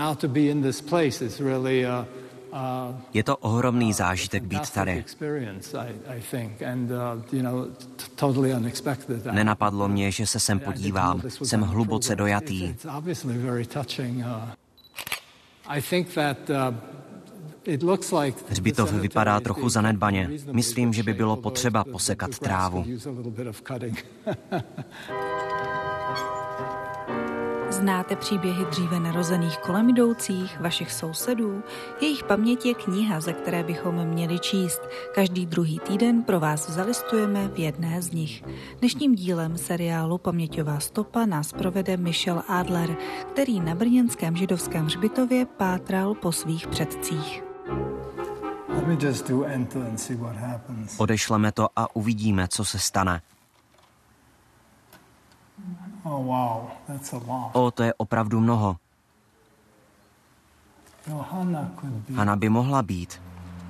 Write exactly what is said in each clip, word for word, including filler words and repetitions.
Je to ohromný zážitek být tady. Nenapadlo mě, že se sem podívám. Jsem hluboce dojatý. Hřbitov vypadá trochu zanedbaně. Myslím, že by bylo potřeba posekat trávu. Znáte příběhy dříve narozených kolem jdoucích, vašich sousedů? Jejich paměť je kniha, ze které bychom měli číst. Každý druhý týden pro vás zalistujeme v jedné z nich. Dnešním dílem seriálu Paměťová stopa nás provede Michel Adler, který na brněnském židovském hřbitově pátral po svých předcích. Odešleme to a uvidíme, co se stane. Oh, wow. That's a lot. O, to je opravdu mnoho. Hana by mohla být.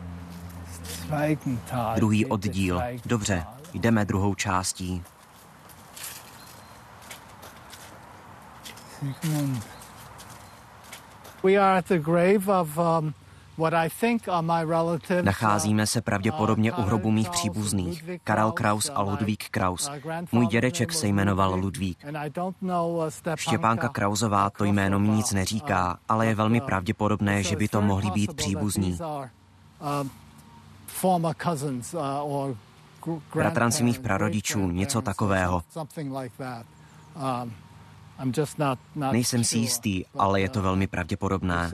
Druhý oddíl. Dobře, jdeme druhou částí. We are at the grave of um, what I think are my relatives. Nacházíme se pravděpodobně u hrobu mých příbuzných, Karel Kraus a Ludvík Kraus. Můj dědeček se jmenoval Ludvík. Štěpánka Krausová to jméno mi nic neříká, ale je velmi pravděpodobné, že by to mohli být příbuzní. Bratranci mých prarodičů, něco takového. Nejsem si jistý, ale je to velmi pravděpodobné.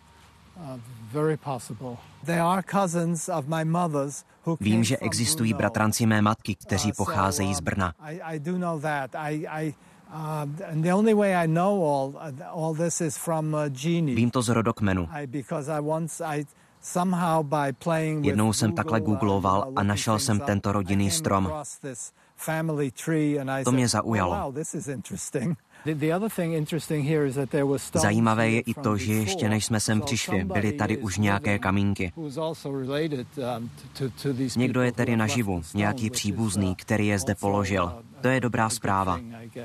Vím, že existují bratranci mé matky, kteří pocházejí z Brna. Vím to z rodokmenu. Jednou jsem takhle googloval a našel jsem tento rodinný strom. To mě zaujalo. Zajímavé je i to, že ještě než jsme sem přišli, byly tady už nějaké kamínky. Někdo je tedy naživu, nějaký příbuzný, který je zde položil. To je dobrá zpráva.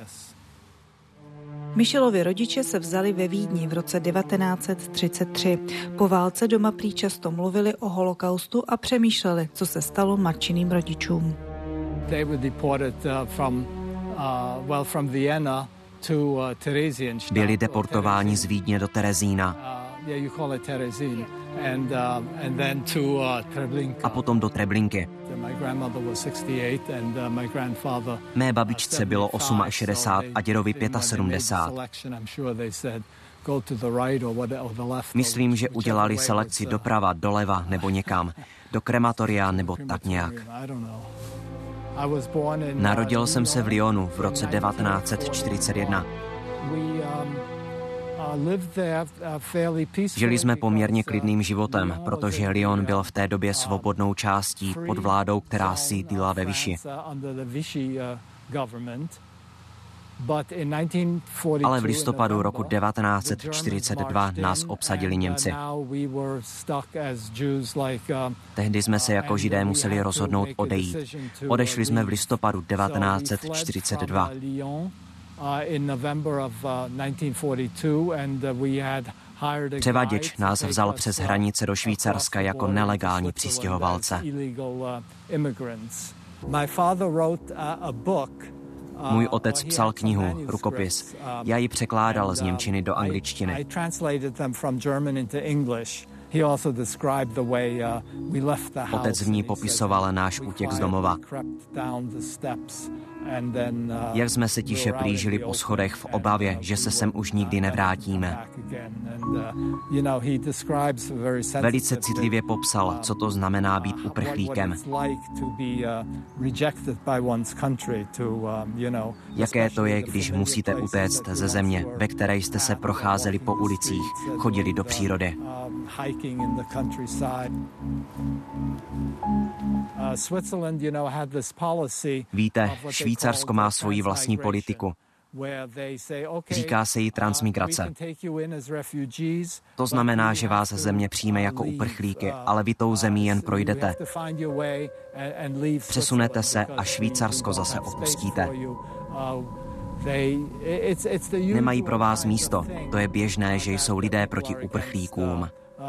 Michelovi rodiče se vzali ve Vídni v roce devatenáct set třicet tři. Po válce doma prý často mluvili o holokaustu a přemýšleli, co se stalo matčiným rodičům. Byli deportováni z Vídně do Terezína a potom do Treblinky. Mé babičce bylo šedesát osm a dědovi sedmdesát pět. Myslím, že udělali selekci doprava, doleva nebo někam, do krematoria nebo tak nějak. Narodil jsem se v Lyonu v roce devatenáct set čtyřicet jedna. Žili jsme poměrně klidným životem, protože Lyon byl v té době svobodnou částí pod vládou, která sídlila ve Vichy. Ale v listopadu roku devatenáct set čtyřicet dva nás obsadili Němci. Tehdy jsme se jako Židé museli rozhodnout odejít. Odešli jsme v listopadu devatenáct set čtyřicet dva. Převaděč nás vzal přes hranice do Švýcarska jako nelegální přistěhovalce. Můj otec psal knihu, rukopis. Já ji překládal z němčiny do angličtiny. Otec v ní popisoval náš útěk z domova. Jak jsme se tiše plížili po schodech v obavě, že se sem už nikdy nevrátíme. Velice citlivě popsal, co to znamená být uprchlíkem. Jaké to je, když musíte utéct ze země, ve které jste se procházeli po ulicích, chodili do přírody. Víte, Švýcarsko má svoji vlastní politiku. Říká se jí transmigrace. To znamená, že vás země přijme jako uprchlíky, ale vy tou zemí jen projdete. Přesunete se a Švýcarsko zase opustíte. Nemají pro vás místo. To je běžné, že jsou lidé proti uprchlíkům.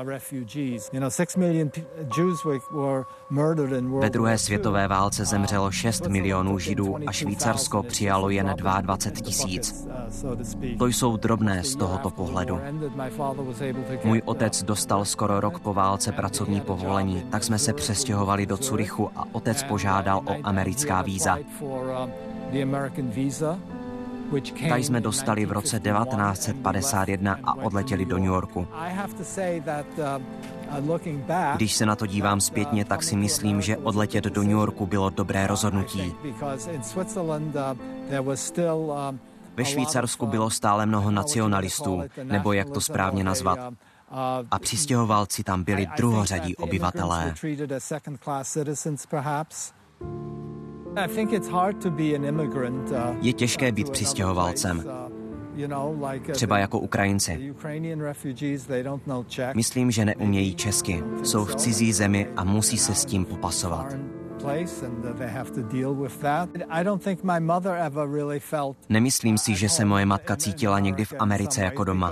Ve druhé světové válce zemřelo šest milionů Židů a Švýcarsko přijalo jen dvacet dva tisíc. To jsou drobné z tohoto pohledu. Můj otec dostal skoro rok po válce pracovní povolení, tak jsme se přestěhovali do Curychu a otec požádal o americká víza. Ta jsme dostali v roce devatenáct set padesát jedna a odletěli do New Yorku. Když se na to dívám zpětně, tak si myslím, že odletět do New Yorku bylo dobré rozhodnutí. Ve Švýcarsku bylo stále mnoho nacionalistů, nebo jak to správně nazvat. A přistěhovalci tam byli druhořadí obyvatelé. Je těžké být přistěhovalcem, třeba jako Ukrajinci. Myslím, že neumějí česky, jsou v cizí zemi a musí se s tím popasovat. Nemyslím si, že se moje matka cítila někdy v Americe jako doma.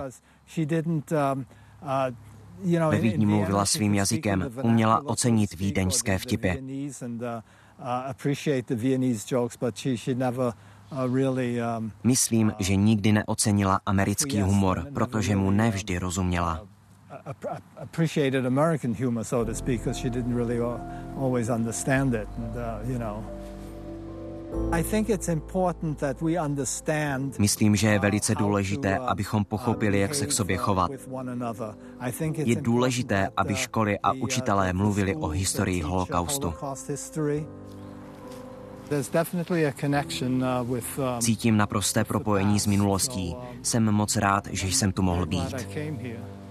Ve Vídni mluvila svým jazykem, uměla ocenit vídeňské vtipy. Myslím, že nikdy neocenila americký humor, protože mu nevždy rozuměla. Myslím, že je velice důležité, abychom pochopili, jak se k sobě chovat. Je důležité, aby školy a učitelé mluvili o historii holokaustu. Cítím naprosté propojení s minulostí. Jsem moc rád, že jsem tu mohl být.